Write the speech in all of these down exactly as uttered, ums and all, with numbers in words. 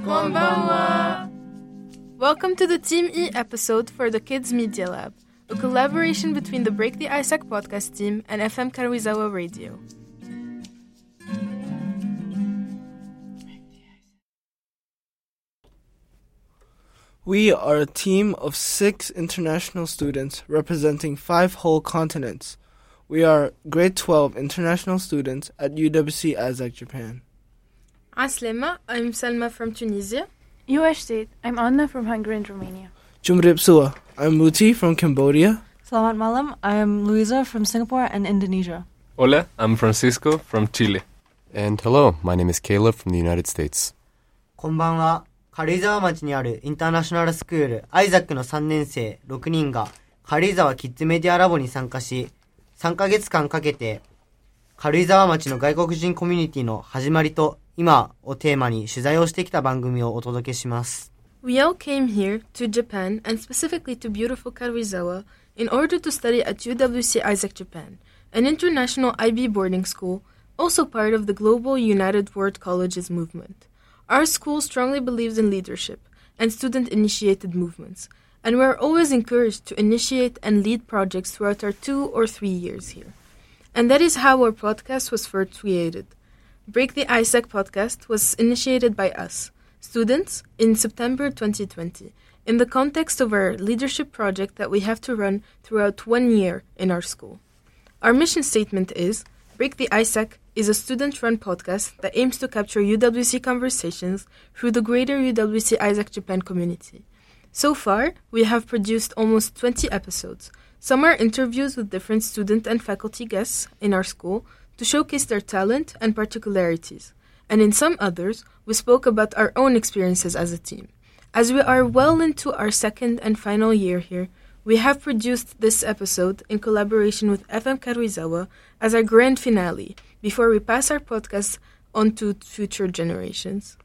Konbanwa! Welcome to the Team E episode for the Kids Media Lab, a collaboration between the Break the Ice podcast team and F M Karuizawa Radio. We are a team of six international students representing five whole continents. We are grade twelve international students at U W C Isaac, Japan. Aslema, I'm Salma from Tunisia. U S State, I'm Anna from Hungary and Romania. Jumrip Sua, I'm Muti from Cambodia. Salamat malam, I am Luisa from Singapore and Indonesia. Hola, I'm Francisco from Chile. And hello, my name is Caleb from the United States. こんばんは。軽井沢町にあるインターナショナルスクールアイザックのさんねん生ろくにんが軽井沢キッズメディアラボに参加し、さんかげつかんかけて軽井沢町の外国人コミュニティの始まりと今をテーマに取材をしてきた番組をお届けします。 We all came here to Japan and specifically to beautiful Karuizawa in order to study at U W C Isaac Japan, an international I B boarding school, also part of the global United World Colleges movement. Our school strongly believes in leadership and student-initiated movements, and we are always encouraged to initiate and lead projects throughout our two or three years here. And that is how our podcast was first created. Break the Isaac podcast was initiated by us, students, in September twenty twenty, in the context of our leadership project that we have to run throughout one year in our school. Our mission statement is, Break the Isaac is a student-run podcast that aims to capture U W C conversations through the greater U W C Isaac Japan community. So far, we have produced almost twenty episodes. Some are interviews with different student and faculty guests in our school to showcase their talent and particularities. And in some others, we spoke about our own experiences as a team. As we are well into our second and final year here, we have produced this episode in collaboration with F M Karuizawa as our grand finale, before we pass our podcast on to future generations.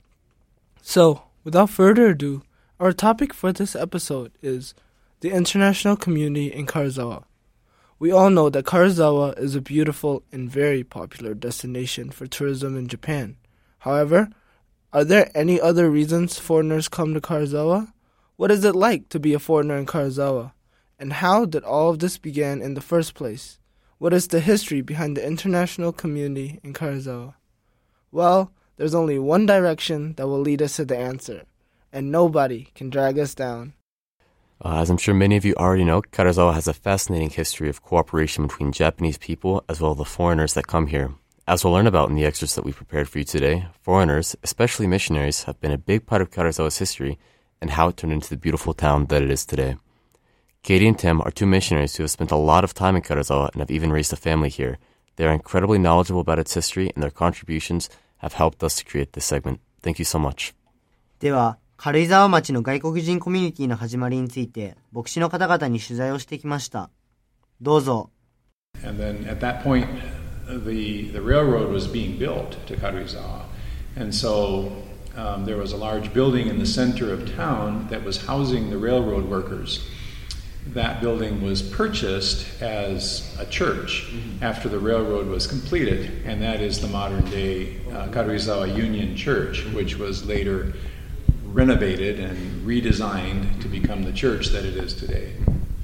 So, without further ado, our topic for this episode is the international community in Karuizawa. We all know that Karuizawa is a beautiful and very popular destination for tourism in Japan. However, are there any other reasons foreigners come to Karuizawa? What is it like to be a foreigner in Karuizawa? And how did all of this begin in the first place? What is the history behind the international community in Karuizawa? Well, there's only one direction that will lead us to the answer, and nobody can drag us down. Uh, as I'm sure many of you already know, Karuizawa has a fascinating history of cooperation between Japanese people as well as the foreigners that come here. As we'll learn about in the excerpts that we prepared for you today, foreigners, especially missionaries, have been a big part of Karuizawa's history and how it turned into the beautiful town that it is today. Katie and Tim are two missionaries who have spent a lot of time in Karuizawa and have even raised a family here. They are incredibly knowledgeable about its history, and their contributions have helped us to create this segment. Thank you so much. では、軽井沢町の外国人コミュニティの始まりについて、牧師の方々に取材をしてきました。どうぞ。 And then at that point, the the railroad was being built to Karuizawa, and so um, there was a large building in the center of town that was housing the railroad workers. That building was purchased as a church mm-hmm. after the railroad was completed, and that is the modern-day uh, Karuizawa Union Church, which was later renovated and redesigned to become the church that it is today.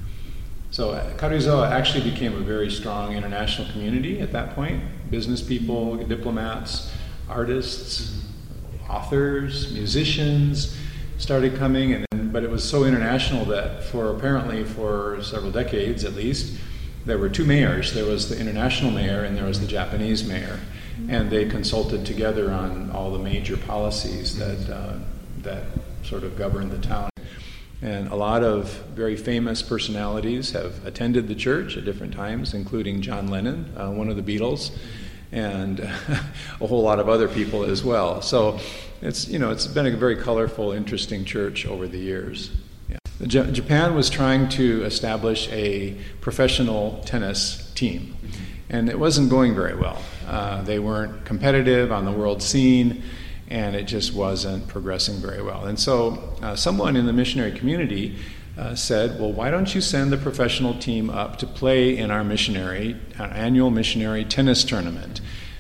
So uh, Karuizawa actually became a very strong international community at that point. Business people, diplomats, artists, authors, musicians started coming, and then, but it was so international that for apparently for several decades at least, there were two mayors. There was the international mayor and there was the Japanese mayor, and they consulted together on all the major policies that uh, that sort of governed the town. And a lot of very famous personalities have attended the church at different times, including John Lennon, uh, one of the Beatles, and a whole lot of other people as well. So it's, you know, it's been a very colorful, interesting church over the years. Yeah. J- Japan was trying to establish a professional tennis team, and it wasn't going very well. Uh, they weren't competitive on the world scene, and it just wasn't progressing very well. And so uh, someone in the missionary community uh, said, well, why don't you send the professional team up to play in our missionary, our annual missionary tennis tournament?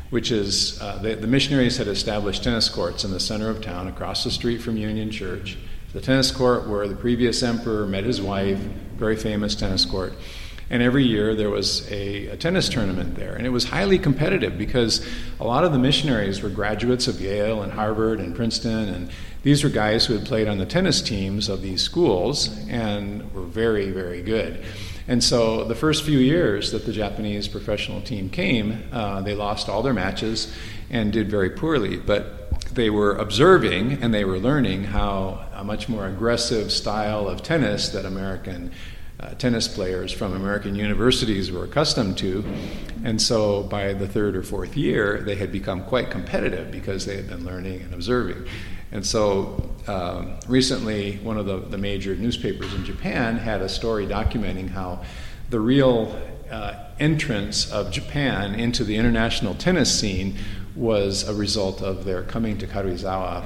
which is uh, the, the missionaries had established tennis courts in the center of town across the street from Union Church. The tennis court where the previous emperor met his wife, very famous tennis court. And every year there was a, a tennis tournament there. And it was highly competitive because a lot of the missionaries were graduates of Yale and Harvard and Princeton. And these were guys who had played on the tennis teams of these schools and were very, very good. And so the first few years that the Japanese professional team came, uh, they lost all their matches and did very poorly. But they were observing and they were learning how a much more aggressive style of tennis that American uh, tennis players from American universities were accustomed to. And so by the third or fourth year, they had become quite competitive because they had been learning and observing. And so um, recently, one of the, the major newspapers in Japan had a story documenting how the real uh, entrance of Japan into the international tennis scene was a result of their coming to Karuizawa.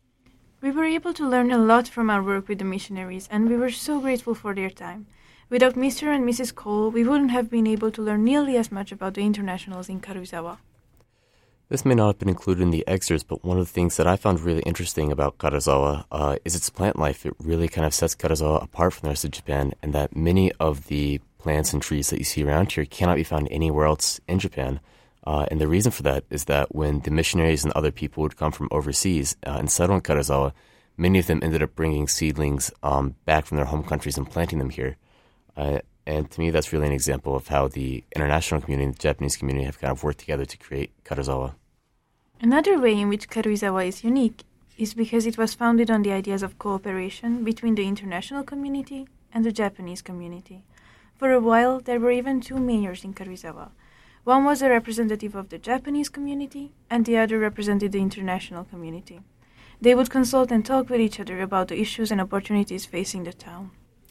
We were able to learn a lot from our work with the missionaries, and we were so grateful for their time. Without Mister and Missus Cole, we wouldn't have been able to learn nearly as much about the internationals in Karuizawa. This may not have been included in the excerpts, but one of the things that I found really interesting about Karuizawa uh, is its plant life. It really kind of sets Karuizawa apart from the rest of Japan, and that many of the plants and trees that you see around here cannot be found anywhere else in Japan. Uh, and the reason for that is that when the missionaries and other people would come from overseas uh, and settle in Karuizawa, many of them ended up bringing seedlings um, back from their home countries and planting them here. Uh, and to me, that's really an example of how the international community and the Japanese community have kind of worked together to create Karuizawa. Another way in which Karuizawa is unique is because it was founded on the ideas of cooperation between the international community and the Japanese community. For a while, there were even two mayors in Karuizawa. One was a representative of the Japanese community, and the other represented the international community. They would consult and talk with each other about the issues and opportunities facing the town.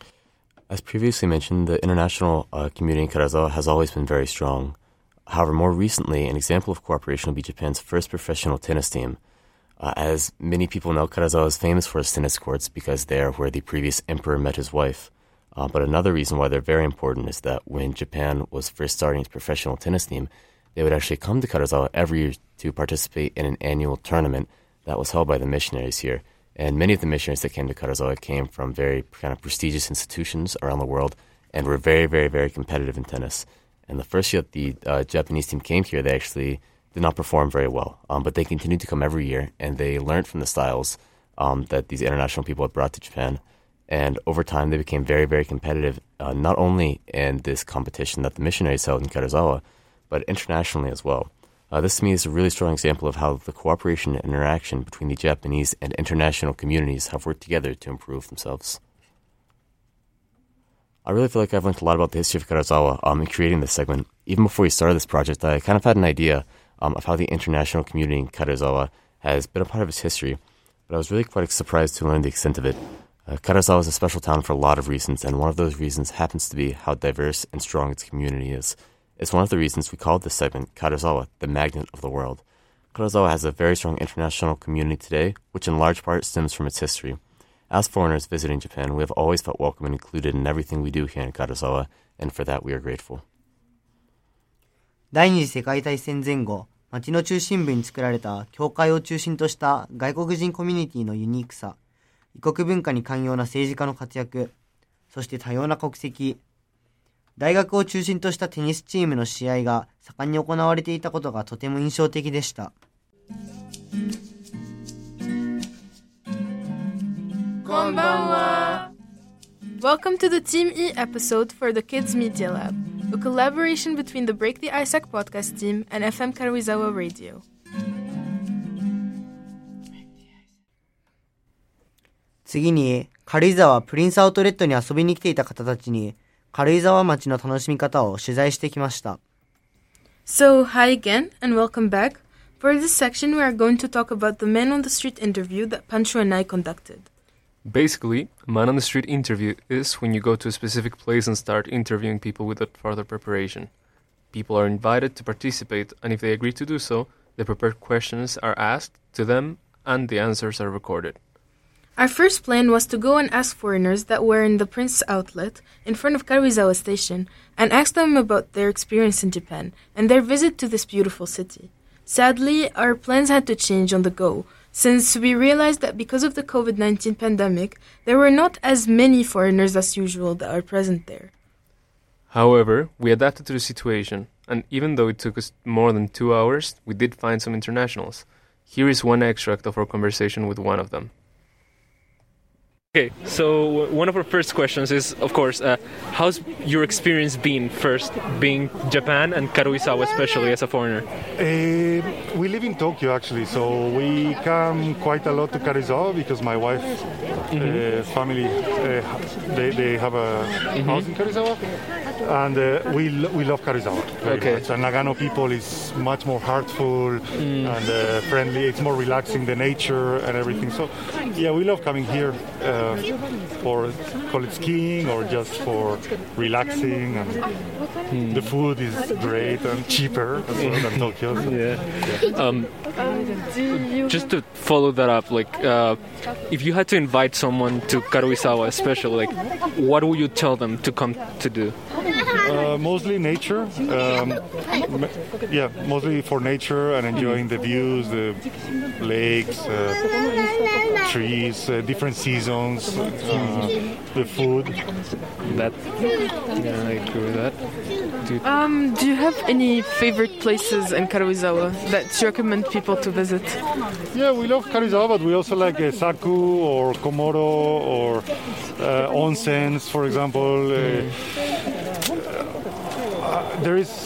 As previously mentioned, the international uh, community in Karuizawa has always been very strong. However, more recently, an example of cooperation will be Japan's first professional tennis team. Uh, as many people know, Karuizawa is famous for its tennis courts because they are where the previous emperor met his wife. Uh, but another reason why they're very important is that when Japan was first starting its professional tennis team, they would actually come to Karuizawa every year to participate in an annual tournament that was held by the missionaries here. And many of the missionaries that came to Karuizawa came from very kind of prestigious institutions around the world and were very, very, very competitive in tennis. And the first year that the uh, Japanese team came here, they actually did not perform very well. Um, but they continued to come every year, and they learned from the styles um, that these international people had brought to Japan. And over time, they became very, very competitive, uh, not only in this competition that the missionaries held in Karuizawa, but internationally as well. Uh, this, to me, is a really strong example of how the cooperation and interaction between the Japanese and international communities have worked together to improve themselves. I really feel like I've learned a lot about the history of Karuizawa um, in creating this segment. Even before we started this project, I kind of had an idea um, of how the international community in Karuizawa has been a part of its history, but I was really quite surprised to learn the extent of it. Uh, Karuizawa is a special town for a lot of reasons, and one of those reasons happens to be how diverse and strong its community is. It's one of the reasons we called this segment Karuizawa, the magnet of the world. Karuizawa has a very strong international community today, which in large part stems from its history. As foreigners visiting Japan, we have always felt welcome and included in everything we do here in Karuizawa, and for that we are grateful. 第二次世界大戦前後、町の中心部に作られた教会を中心とした外国人コミュニティのユニークさ、異国文化に寛容な政治家の活躍、そして多様な国籍、大学を中心としたテニスチームの試合が盛んに行われていたことがとても印象的でした。 こんばんは。Welcome to the Team E episode for the Kids Media Lab, a collaboration between the Break the Ice podcast team and エフエム Karuizawa Radio. 次に、軽井沢プリンスアウトレットに遊びに来ていた方たちに、軽井沢町の楽しみ方を取材してきました。 So, hi again and welcome back. For this section, we are going to talk about the Man on the Street interview that Pancho and I conducted. Basically, a man on the street interview is when you go to a specific place and start interviewing people without further preparation. People are invited to participate, and if they agree to do so, the prepared questions are asked to them and the answers are recorded. Our first plan was to go and ask foreigners that were in the Prince Outlet in front of Karuizawa Station and ask them about their experience in Japan and their visit to this beautiful city. Sadly, our plans had to change on the go, since we realized that because of the covid nineteen pandemic, there were not as many foreigners as usual that are present there. However, we adapted to the situation, and even though it took us more than two hours, we did find some internationals. Here is one extract of our conversation with one of them. Okay, so one of our first questions is, of course, uh, how's your experience been first, being Japan and Karuizawa especially as a foreigner? Uh, we live in Tokyo actually, so we come quite a lot to Karuizawa because my wife's mm-hmm. uh, family, uh, they, they have a mm-hmm. house in Karuizawa, and uh, we lo- we love Karuizawa very okay. much. And Nagano people is much more heartful mm. and uh, friendly. It's more relaxing, the nature and everything. So yeah, we love coming here. Uh, for call it skiing or just for relaxing, and mm. the food is great and cheaper as well than Tokyo. So. Yeah. yeah. Um, just to follow that up, like uh, if you had to invite someone to Karuizawa, especially, like what would you tell them to come to do? Uh, mostly nature. Um, yeah, mostly for nature and enjoying the views, the lakes, uh, trees, uh, different seasons, uh, the food. That, yeah, I agree with that. Do, um, do you have any favorite places in Karuizawa that you recommend people to visit? Yeah, we love Karuizawa, but we also like uh, Saku or Komoro or uh, onsens, for example. Uh, uh, there is.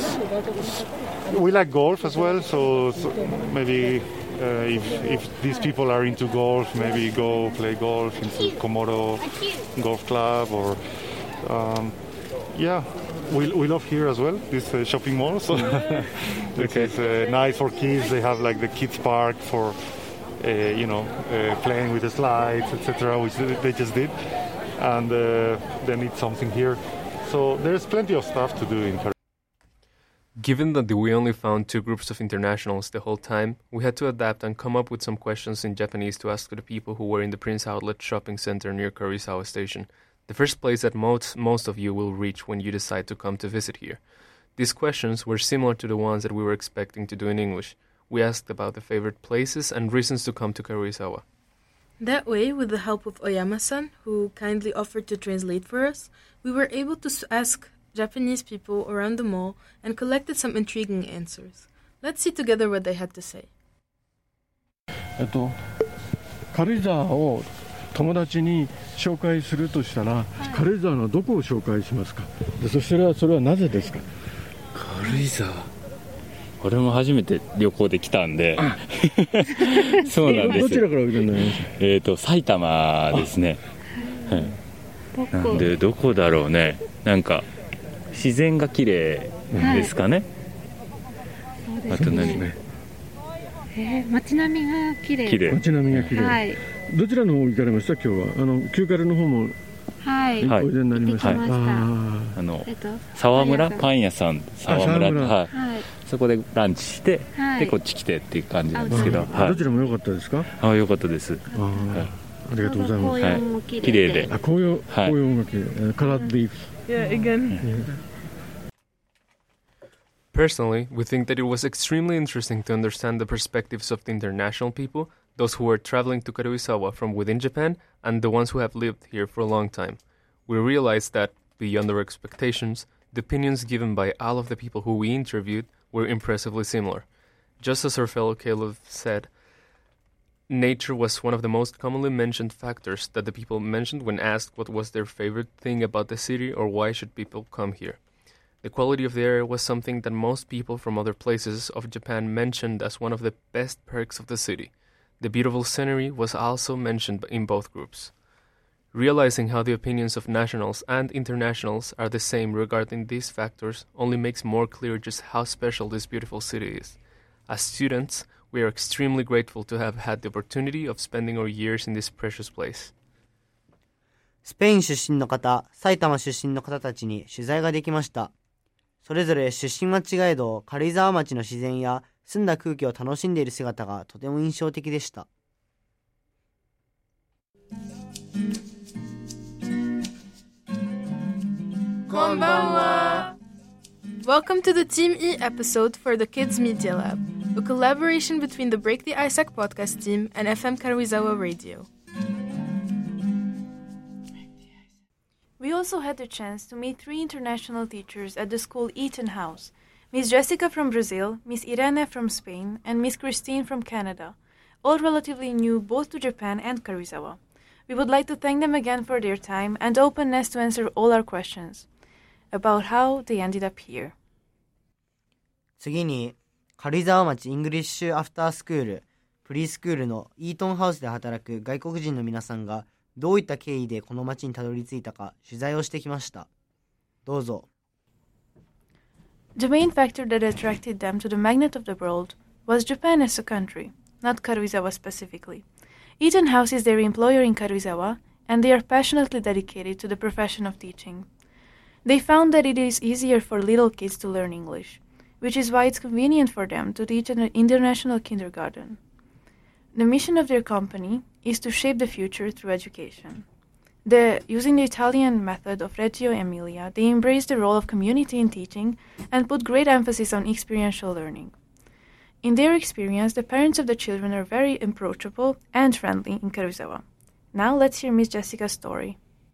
We like golf as well, so, so maybe. Uh, if if these people are into golf, maybe go play golf in Komoro Golf Club, or um, yeah, we we love here as well this uh, shopping mall. So okay. It's uh, nice for kids. They have like the kids park for uh, you know uh, playing with the slides, et cetera, which they just did, and uh, they need something here. So there's plenty of stuff to do in Korea. Given that we only found two groups of internationals the whole time, we had to adapt and come up with some questions in Japanese to ask the people who were in the Prince Outlet shopping center near Karuizawa Station, the first place that most, most of you will reach when you decide to come to visit here. These questions were similar to the ones that we were expecting to do in English. We asked about the favorite places and reasons to come to Karuizawa. That way, with the help of Oyama-san, who kindly offered to translate for us, we were able to ask Japanese people around the mall and collected some intriguing answers. Let's see together what they had to say. えっと、軽井沢を友達に紹介するとしたら、軽井沢のどこを紹介しますか？で、そしたらそれはなぜですか？ 軽井沢。俺も初めて旅行で来たんで、そうなんです。 どちらからおいでになりました？ えっと埼玉ですね。はい。なんでどこだろうね。なんか。自然が綺麗ですかね。はい、あと何？えー、街並みが綺麗。 綺麗。 街並みが綺麗。はい。どちらの方行かれました今日は？あの旧軽の方もはい。 おいでになりました。はい。あ, あの、えっと、沢村パン屋さん沢村はい、はい。そこでランチして、はい、でこっち来てっていう感じなんですけど、はい。 どちらも良かったですか？ あ、良かったです。あ、はい、 ありがとうございます。 はい。綺麗で。 あ、紅葉、紅葉が綺麗。カラーリーフ。 Yeah, again. Yeah. Personally, we think that it was extremely interesting to understand the perspectives of the international people, those who were traveling to Karuizawa from within Japan, and the ones who have lived here for a long time. We realized that, beyond our expectations, the opinions given by all of the people who we interviewed were impressively similar. Just as our fellow Caleb said, nature was one of the most commonly mentioned factors that the people mentioned when asked what was their favorite thing about the city or why should people come here. The quality of the air was something that most people from other places of Japan mentioned as one of the best perks of the city. The beautiful scenery was also mentioned in both groups. Realizing how the opinions of nationals and internationals are the same regarding these factors only makes more clear just how special this beautiful city is. As students, we are extremely grateful to have had the opportunity of spending our years in this precious place. スペイン出身の方、埼玉出身の方たちに取材ができました。それぞれ出身は違えど、軽井沢町の自然や澄んだ空気を楽しんでいる姿がとても印象的でした。 こんばんは。Welcome to the Team E episode for the Kids Media Lab. a collaboration between the Break the Ice-Sack podcast team and F M Karuizawa Radio. We also had the chance to meet three international teachers at the school Eaton House, Miss Jessica from Brazil, Miss Irene from Spain, and Miss Christine from Canada, all relatively new both to Japan and Karuizawa. We would like to thank them again for their time and openness to answer all our questions about how they ended up here. 次に、軽井沢町イングリッシュアフタースクール、プリースクールのイートンハウスで働く外国人の皆さんがどういった経緯でこの町にたどり着いたか取材をしてきました。どうぞ。 The main factor that attracted them to the magnet of the world was Japan as a country, not Karuizawa specifically. Eaton House is their employer in Karuizawa, and they are passionately dedicated to the profession of teaching. They found that it is easier for little kids to learn English, which is why it's convenient for them to teach in an international kindergarten. The mission of their company is to shape the future through education. The, using the Italian method of Reggio Emilia, they embrace the role of community in teaching and put great emphasis on experiential learning. In their experience, the parents of the children are very approachable and friendly in Karuizawa. Now let's hear Miss Jessica's story.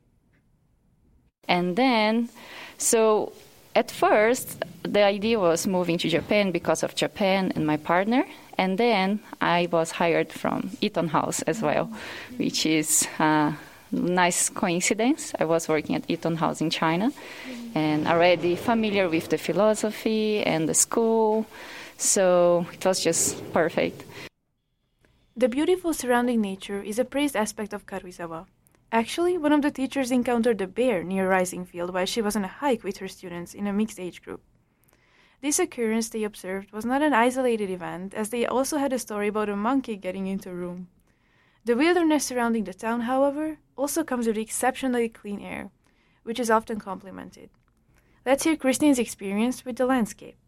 And then, so at first, the idea was moving to Japan because of Japan and my partner. And then I was hired from Eaton House as well, which is a nice coincidence. I was working at Eaton House in China and already familiar with the philosophy and the school. So it was just perfect. The beautiful surrounding nature is a praised aspect of Karuizawa. Actually, one of the teachers encountered a bear near Rising Field while she was on a hike with her students in a mixed age group. This occurrence, they observed, was not an isolated event, as they also had a story about a monkey getting into a room. The wilderness surrounding the town, however, also comes with exceptionally clean air, which is often complimented. Let's hear Christine's experience with the landscape.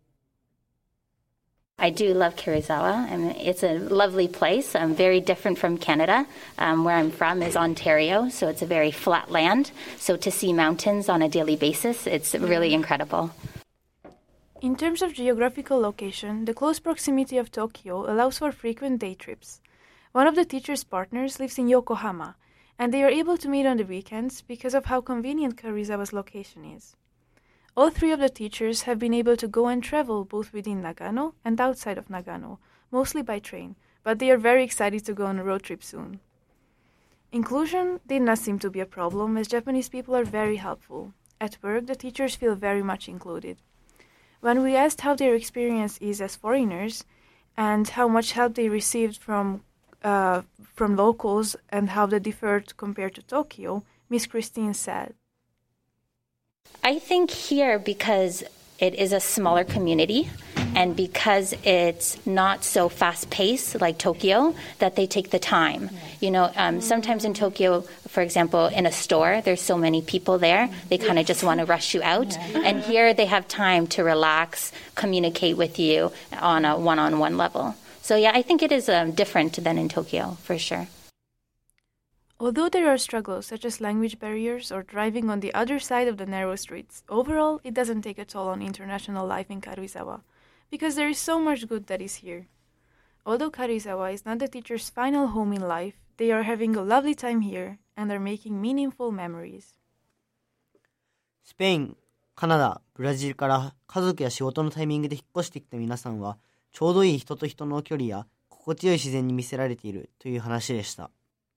I do love Karuizawa. I mean, it's a lovely place. I'm very different from Canada. Um, where I'm from is Ontario, so it's a very flat land. So to see mountains on a daily basis, it's really incredible. In terms of geographical location, the close proximity of Tokyo allows for frequent day trips. One of the teacher's partners lives in Yokohama, and they are able to meet on the weekends because of how convenient Karuizawa's location is. All three of the teachers have been able to go and travel both within Nagano and outside of Nagano, mostly by train, but they are very excited to go on a road trip soon. Inclusion did not seem to be a problem, as Japanese people are very helpful. At work, the teachers feel very much included. When we asked how their experience is as foreigners and how much help they received from uh, from locals and how they differed compared to Tokyo, Miss Christine said, I think here, because it is a smaller community and because it's not so fast-paced like Tokyo, that they take the time. You know, um, sometimes in Tokyo, for example, in a store, there's so many people there, they kind of just want to rush you out. And here they have time to relax, communicate with you on a one-on-one level. So yeah, I think it is um, different than in Tokyo, for sure. Although there are struggles such as language barriers or driving on the other side of the narrow streets, overall it doesn't take a toll on international life in Karuizawa, because there is so much good that is here. Although Karuizawa is not the teacher's final home in life, they are having a lovely time here and are making meaningful memories. スペイン、カナダ、ブラジルから家族や仕事のタイミングで引っ越してきた皆さんは、ちょうどいい人と人の距離や心地よい自然に魅せられているという話でした。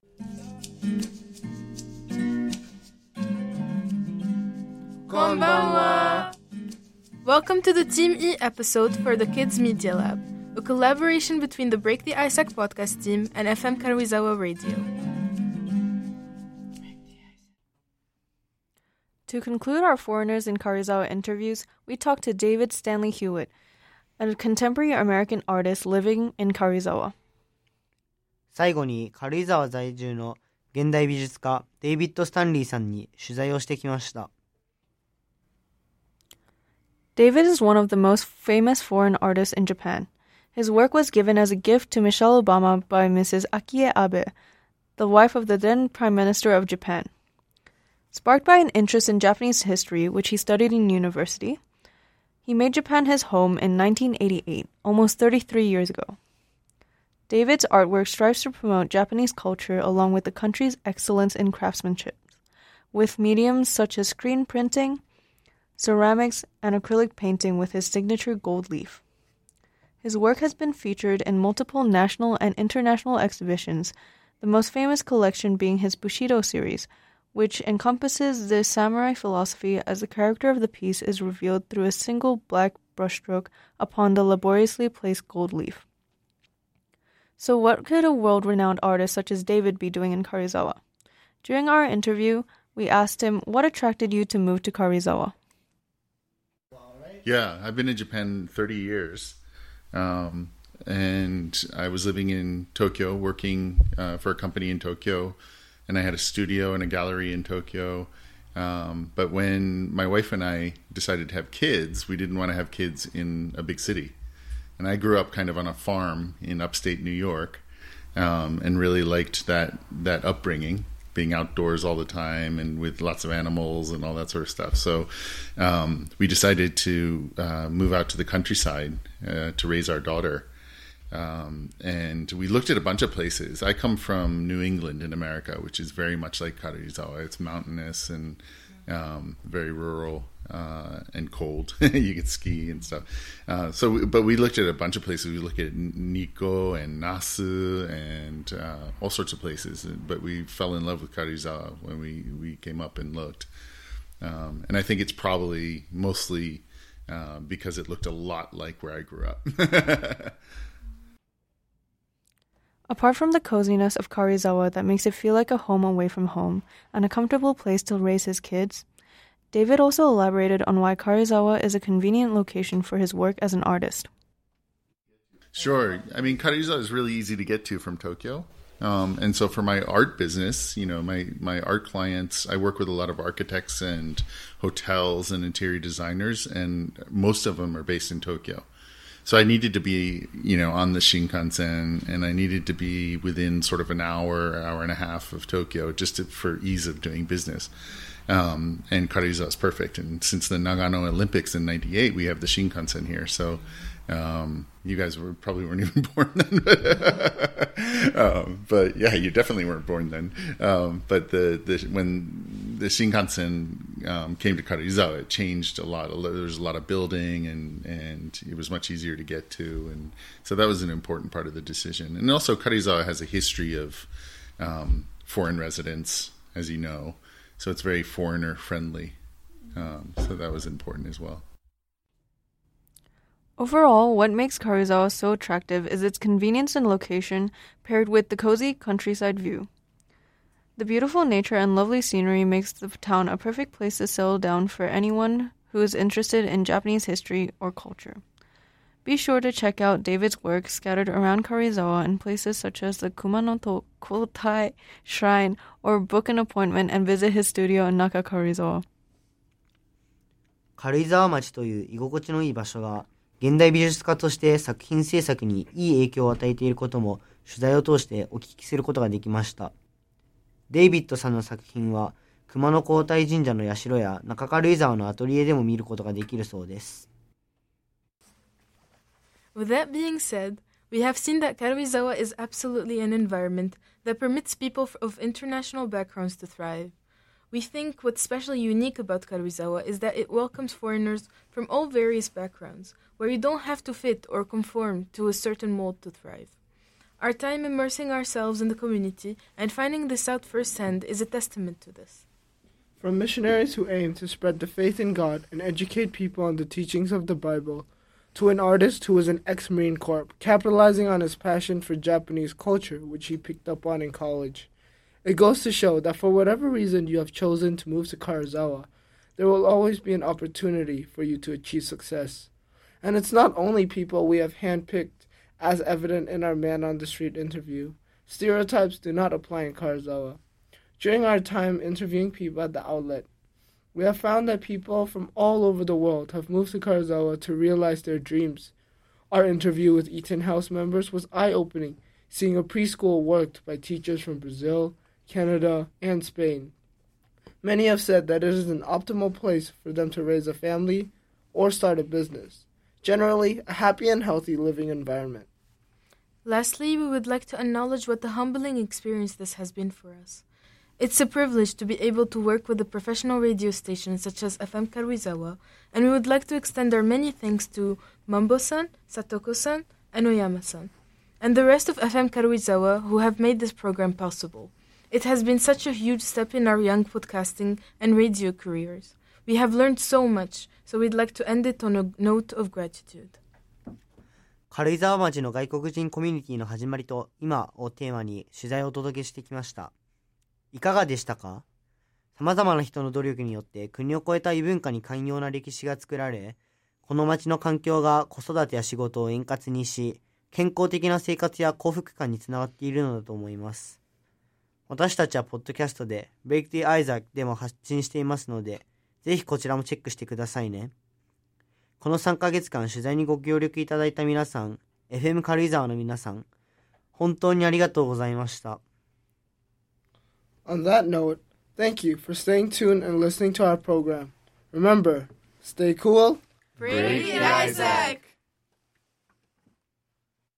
Konbanwa! Welcome to the Team E episode for the Kids Media Lab, a collaboration between the Break the Ice-Sack podcast team and F M Karuizawa Radio. To conclude our Foreigners in Karuizawa interviews, we talked to David Stanley Hewitt, a contemporary American artist living in Karuizawa. 最後に軽井沢在住の現代美術家デイビッド・スタンリーさんに取材をしてきました。 David is one of the most famous foreign artists in Japan. His work was given as a gift to Michelle Obama by Missus Akie Abe, the wife of the then Prime Minister of Japan. Sparked by an interest in Japanese history, which he studied in university, He made Japan his home in nineteen eighty-eight, almost thirty-three years ago. David's artwork strives to promote Japanese culture along with the country's excellence in craftsmanship, with mediums such as screen printing, ceramics, and acrylic painting with his signature gold leaf. His work has been featured in multiple national and international exhibitions, the most famous collection being his Bushido series, which encompasses the samurai philosophy as the character of the piece is revealed through a single black brushstroke upon the laboriously placed gold leaf. So what could a world-renowned artist such as David be doing in Karuizawa? During our interview, we asked him what attracted you to move to Karuizawa. Yeah, I've been in Japan thirty years. Um, and I was living in Tokyo, working uh, for a company in Tokyo, and I had a studio and a gallery in Tokyo. Um, but when my wife and I decided to have kids, we didn't want to have kids in a big city. And I grew up kind of on a farm in upstate New York, um, and really liked that that upbringing, being outdoors all the time and with lots of animals and all that sort of stuff. So um, we decided to uh, move out to the countryside uh, to raise our daughter. Um, and we looked at a bunch of places. I come from New England in America, which is very much like Karuizawa. It's mountainous and um, very rural uh, and cold. You can ski and stuff. Uh, so, we, but we looked at a bunch of places. We looked at Nikko and Nasu and uh, all sorts of places. But we fell in love with Karuizawa when we, we came up and looked. Um, and I think it's probably mostly uh, because it looked a lot like where I grew up. Apart from the coziness of Karuizawa that makes it feel like a home away from home and a comfortable place to raise his kids, David also elaborated on why Karuizawa is a convenient location for his work as an artist. Sure. I mean, Karuizawa is really easy to get to from Tokyo. Um, and so for my art business, you know, my, my art clients, I work with a lot of architects and hotels and interior designers, and most of them are based in Tokyo. So I needed to be, you know, on the Shinkansen, and I needed to be within sort of an hour, hour and a half of Tokyo, just to, for ease of doing business. Um, and Karuizawa is perfect. And since the Nagano Olympics in ninety-eight, we have the Shinkansen here. So um, you guys were probably weren't even born then. But, um, but yeah, you definitely weren't born then. Um, but the, the when the Shinkansen um, came to Karuizawa, it changed a lot. There was a lot of building, and, and it was much easier to get to. And so that was an important part of the decision. And also Karuizawa has a history of um, foreign residents, as you know. So it's very foreigner-friendly. Um, so that was important as well. Overall, what makes Karuizawa so attractive is its convenience and location paired with the cozy countryside view. The beautiful nature and lovely scenery makes the town a perfect place to settle down for anyone who is interested in Japanese history or culture. Be sure to check out David's work scattered around Karuizawa in places such as the Kumanoto Kotai Shrine, or book an appointment and visit his studio in Naka Karuizawa. 軽井沢町という居心地のいい場所が現代美術家として作品制作にいい影響を与えていることも取材を通してお聞きすることができました。デイビッドさんの作品は熊野皇大神社の社や中軽井沢のアトリエでも見ることができるそうです。 With that being said, we have seen that Karuizawa is absolutely an environment that permits people of international backgrounds to thrive. We think what's especially unique about Karuizawa is that it welcomes foreigners from all various backgrounds, where you don't have to fit or conform to a certain mold to thrive. Our time immersing ourselves in the community and finding this out firsthand is a testament to this. From missionaries who aim to spread the faith in God and educate people on the teachings of the Bible, to an artist who was an ex-Marine Corps, capitalizing on his passion for Japanese culture, which he picked up on in college. It goes to show that for whatever reason you have chosen to move to Karuizawa, there will always be an opportunity for you to achieve success. And it's not only people we have handpicked, as evident in our man-on-the-street interview. Stereotypes do not apply in Karuizawa. During our time interviewing people at the outlet, we have found that people from all over the world have moved to Karuizawa to realize their dreams. Our interview with Eaton House members was eye-opening, seeing a preschool worked by teachers from Brazil, Canada, and Spain. Many have said that it is an optimal place for them to raise a family, or start a business. Generally, a happy and healthy living environment. Lastly, we would like to acknowledge what a humbling experience this has been for us. It's a privilege to be able to work with a professional radio station such as F M Karuizawa, and we would like to extend our many thanks to Mambo-san, Satoko-san, and Oyama-san, and the rest of F M Karuizawa who have made this program possible. It has been such a huge step in our young podcasting and radio careers. We have learned so much, so we'd like to end it on a note of gratitude. 軽井沢町の外国人コミュニティの始まりと今をテーマに取材をお届けしてきました。いかがでしたか？様々な人の努力によって国を越えた異文化に寛容な歴史が作られ、この町の環境が子育てや仕事を円滑にし、健康的な生活や幸福感につながっているのだと思います。私たちはポッドキャストで Break the Isaac でも発信していますので、ぜひこちらもチェックしてくださいね。このさんかげつかん取材にご協力いただいた皆さん、エフエム 軽井沢の皆さん、本当にありがとうございました。 On that note, thank you for staying tuned and listening to our program. Remember, stay cool. Break the Isaac!